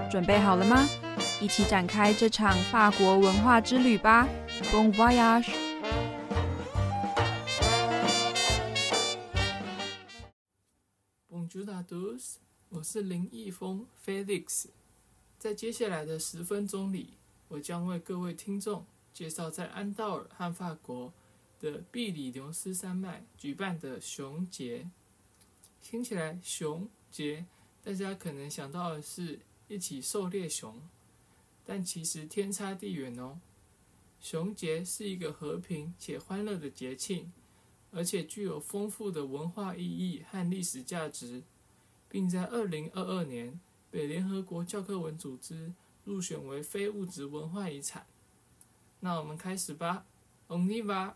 准备好了吗？一起展开这场法国文化之旅吧 ！Bon voyage！ Bonjour à tous， 我是林义峰 Felix。在接下来的10分钟里，我将为各位听众介绍在安道尔和法国的比里牛斯山脉举办的熊节。听起来熊节，大家可能想到的是一起狩猎熊，但其实天差地远哦。熊节是一个和平且欢乐的节庆，而且具有丰富的文化意义和历史价值，并在2022年被联合国教科文组织入选为非物质文化遗产。那我们开始吧 ，On y va！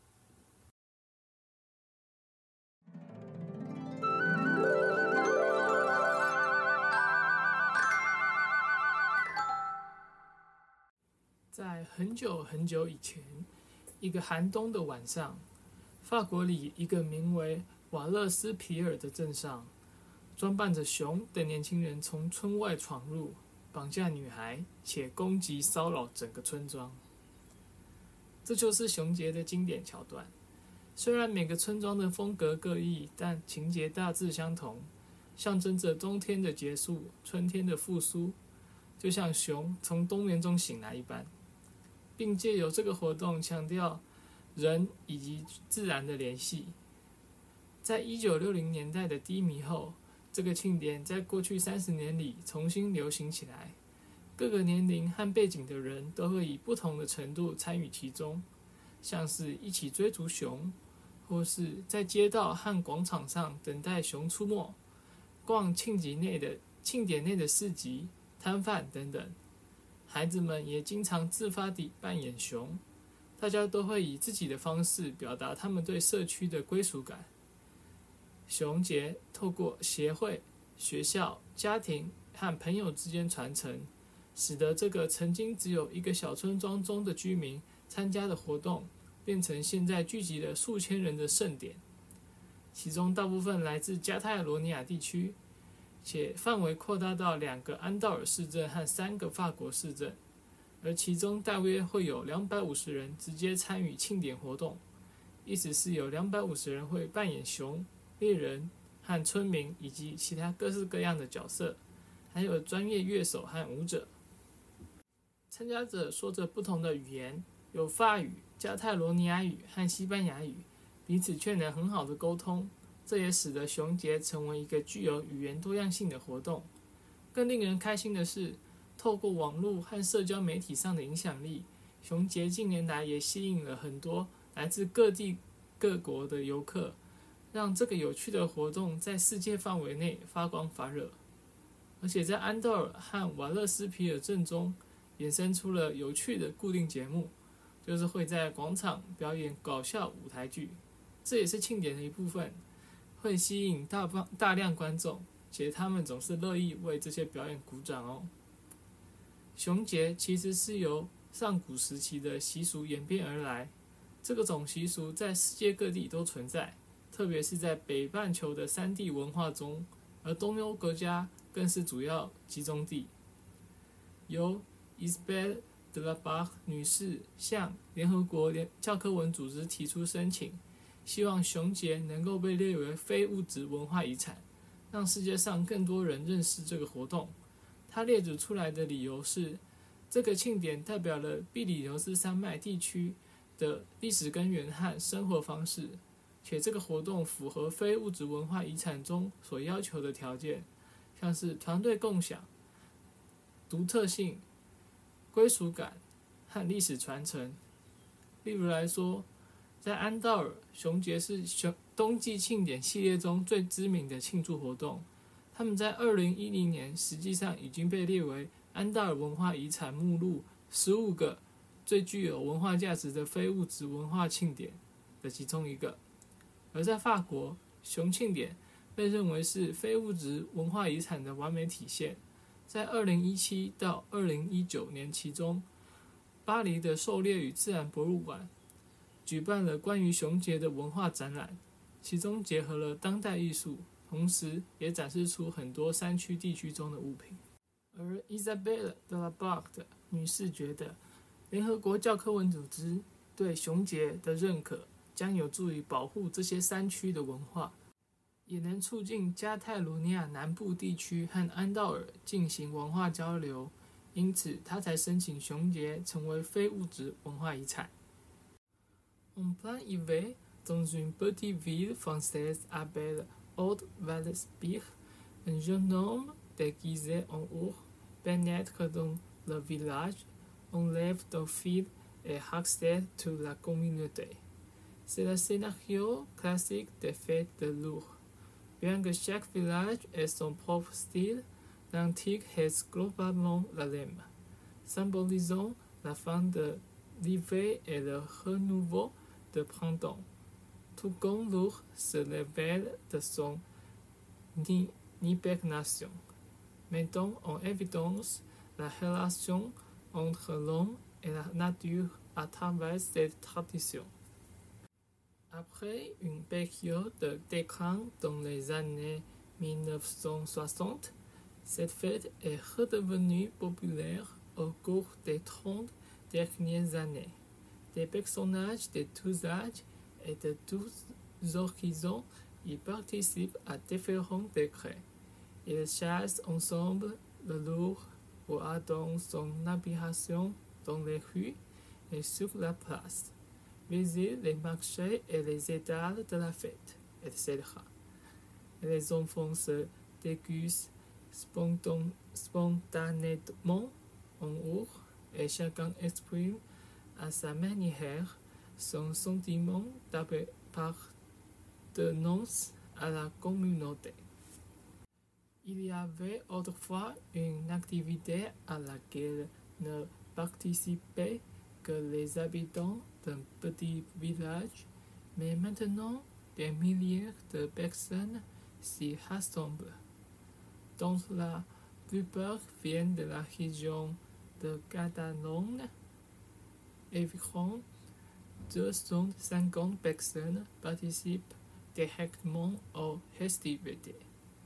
在很久很久以前，一个寒冬的晚上，法国里一个名为瓦勒斯皮尔的镇上，装扮着熊的年轻人从村外闯入，绑架女孩，且攻击骚扰整个村庄。这就是熊节的经典桥段。虽然每个村庄的风格各异，但情节大致相同，象征着冬天的结束，春天的复苏，就像熊从冬眠中醒来一般，并借由这个活动强调人以及自然的联系。在1960年代的低迷后，这个庆典在过去30年里重新流行起来，各个年龄和背景的人都会以不同的程度参与其中，像是一起追逐熊，或是在街道和广场上等待熊出没，逛庆典内的市集、摊贩等等。孩子们也经常自发地扮演熊，大家都会以自己的方式表达他们对社区的归属感。熊节透过协会、学校、家庭和朋友之间传承，使得这个曾经只有一个小村庄中的居民参加的活动，变成现在聚集了数千人的盛典。其中大部分来自加泰罗尼亚地区，且范围扩大到2个安道尔市镇和3个法国市镇，而其中大约会有250人直接参与庆典活动，意思是有250人会扮演熊、猎人和村民以及其他各式各样的角色，还有专业乐手和舞者。参加者说着不同的语言，有法语、加泰罗尼亚语和西班牙语，彼此却能很好的沟通。这也使得熊节成为一个具有语言多样性的活动。更令人开心的是，透过网络和社交媒体上的影响力，熊节近年来也吸引了很多来自各地各国的游客，让这个有趣的活动在世界范围内发光发热。而且在安道尔和瓦勒斯皮尔镇中，衍生出了有趣的固定节目，就是会在广场表演搞笑舞台剧，这也是庆典的一部分，会吸引大量观众，且他们总是乐意为这些表演鼓掌哦。熊节其实是由上古时期的习俗演变而来，这个种习俗在世界各地都存在，特别是在北半球的3地文化中，而东欧国家更是主要集中地。由 Isabelle de la Barre 女士向联合国教科文组织提出申请，希望熊节能够被列为非物质文化遗产，让世界上更多人认识这个活动。他列举出来的理由是，这个庆典代表了比里牛斯山脉地区的历史根源和生活方式，且这个活动符合非物质文化遗产中所要求的条件，像是团队共享、独特性、归属感和历史传承。例如来说，在安道尔，熊节是冬季庆典系列中最知名的庆祝活动。他们在2010年实际上已经被列为安道尔文化遗产目录15个最具有文化价值的非物质文化庆典的其中一个。而在法国，熊庆典被认为是非物质文化遗产的完美体现。在2017到2019年期中，巴黎的狩猎与自然博物馆举办了关于熊节的文化展览，其中结合了当代艺术，同时也展示出很多山区地区中的物品。 而 Isabelle de la Barre 女士觉得，联合国教科文组织对熊节的认可将有助于保护这些山区的文化，也能促进加泰罗尼亚南部地区和安道尔进行文化交流，因此他才申请熊节成为非物质文化遗产。En plein hiver, dans une petite ville française appelée Haute-Vallespire, un jeune homme déguisé en ours pénètre dans le village, enlève d'un fil et harcèle toute la communauté. C'est le scénario classique des fêtes de l'ours. Bien que chaque village ait son propre style, l'antique reste globalement la même, symbolisant la fin de l'hiver et le renouveau de printemps. Tout comme l'ours se révèle de son hibernation, mettant en évidence la relation entre l'homme et la nature à travers cette tradition. Après une période de déclin dans les années 1960, cette fête est redevenue populaire au cours des 30 dernières années. Des personnages de tous âges et de tous horizons y participent à différents degrés. Ils chassent ensemble le lourd ou attendent son apparition dans les rues et sur la place, visitent les marchés et les étals de la fête, etc. Et les enfants se déguisent spontanément en ours et chacun exprime à sa manière son sentiment d'appartenance à la communauté. Il y avait autrefois une activité à laquelle ne participaient que les habitants d'un petit village, mais maintenant des milliers de personnes s'y rassemblent, dont la plupart viennent de la région de Catalogne. Environ 250 personnes participent directement aux festivités.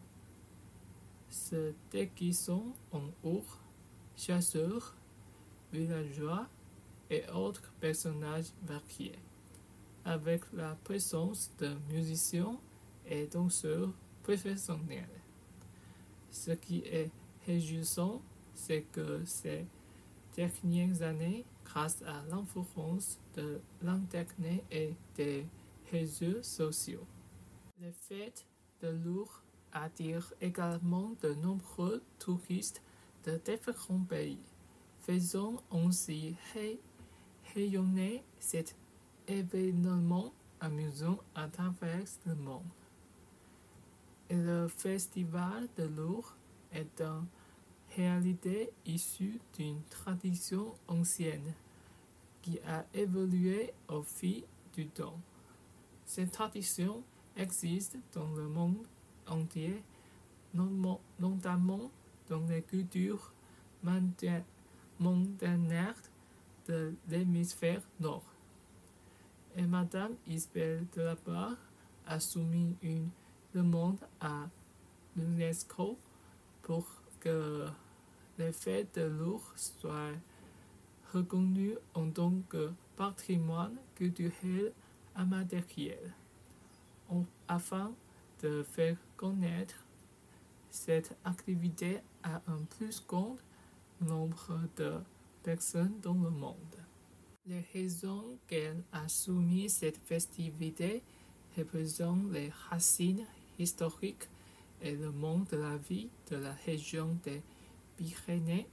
Se déguisant en ours, chasseurs, villageois et autres personnages variés, avec la présence de musiciens et danseurs professionnels. Ce qui est réjouissant, c'est que ces dernières années, grâce à l'influence de l'Internet et des réseaux sociaux, les fêtes de l'ours attirent également de nombreux touristes de différents pays, faisant ainsi rayonner cet événement amusant à travers le monde. Et le festival de l'ours est en réalité issu d'une tradition ancienne qui a évolué au fil du temps. Cette tradition existe dans le monde entier, notamment dans les cultures montagnardes de l'hémisphère nord. Et Madame Isabelle de la Barre a soumis une demande à l'UNESCO pour que les fêtes de l'ours soient reconnues en tant que patrimoine culturel immatériel, afin de faire connaître cette activité à un plus grand nombre de personnes dans le monde. Les raisons qu'elle a soumis cette festivité représentent les racines historiques et le monde de la vie de la région des Pyrénées.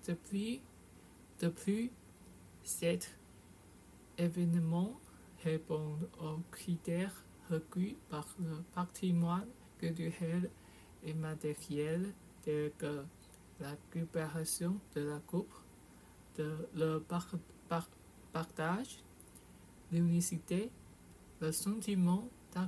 Depuis cet événement répond aux critères requis par le patrimoine culturel et matériel tels que la coopération de la coupe, le partage, l'unicité, le sentiment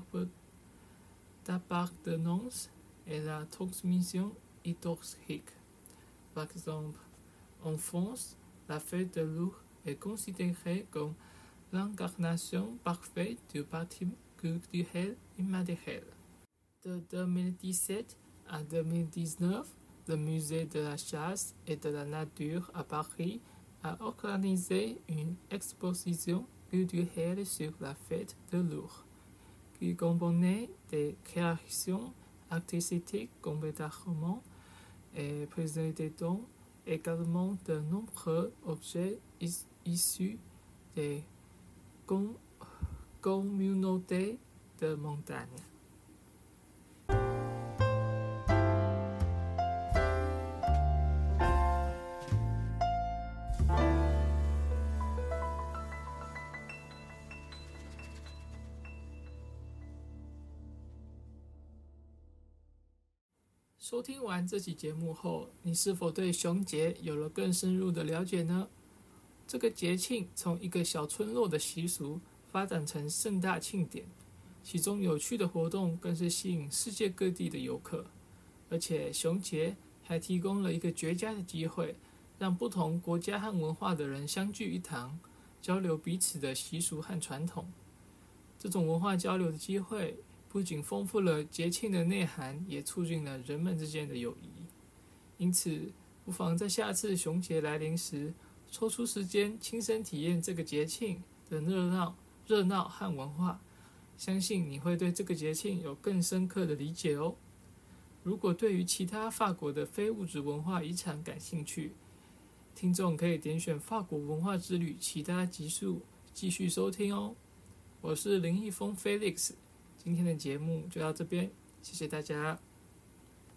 d'appartenance et la transmission historique. Par exemple, en France, la fête de l'ours est considérée comme l'incarnation parfaite du patrimoine culturel immatériel. De 2017 à 2019, le Musée de la Chasse et de la Nature à Paris a organisé une exposition culturelle sur la fête de l'ours, qui comprenait des créations artistiques complètement et présentant également de nombreux objets issus des communautés de montagne。收听完这期节目后，你是否对熊节有了更深入的了解呢？这个节庆从一个小村落的习俗发展成盛大庆典，其中有趣的活动更是吸引世界各地的游客。而且熊节还提供了一个绝佳的机会，让不同国家和文化的人相聚一堂，交流彼此的习俗和传统。这种文化交流的机会不仅丰富了节庆的内涵，也促进了人们之间的友谊。因此，不妨在下次熊节来临时，抽出时间亲身体验这个节庆的热闹和文化，相信你会对这个节庆有更深刻的理解哦。如果对于其他法国的非物质文化遗产感兴趣，听众可以点选法国文化之旅其他集数继续收听哦。我是林毅峰 Felix，今天的节目就到这边，谢谢大家。